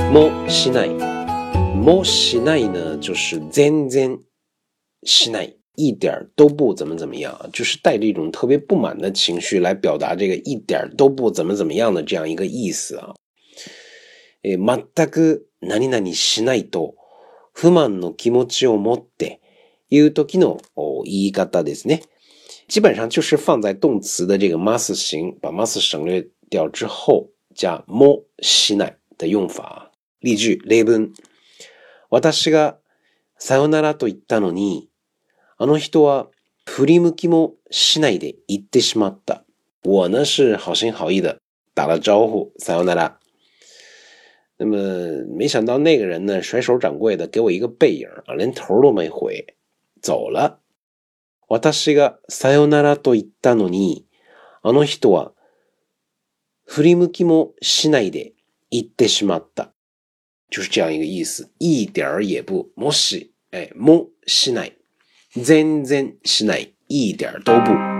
もしない。もしない呢，就是全然しない。一点都不怎么怎么样，就是带着一种特别不满的情绪来表达这个一点都不怎么怎么样的这样一个意思啊。全く何々しないと不満の気持ちを持って言う時の言い方ですね。基本上就是放在动词的这个 must 形，把 must 省略掉之后加もしない的用法。例句例文。私がさよならと言ったのに、あの人は振り向きもしないで言ってしまった。我呢是好心好意的打了招呼，さよなら。那么没想到那个人呢甩手掌柜的给我一个背影啊，连头都没回，走了。私がさよならと言ったのに、あの人は振り向きもしないで言ってしまった。就是这样一个意思，一点儿也不，もし、もしない。全然しない。一点都不。